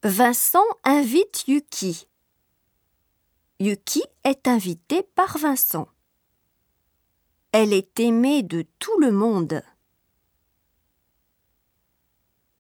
Vincent invite Yuki. Yuki est invitée par Vincent. Elle est aimée de tout le monde.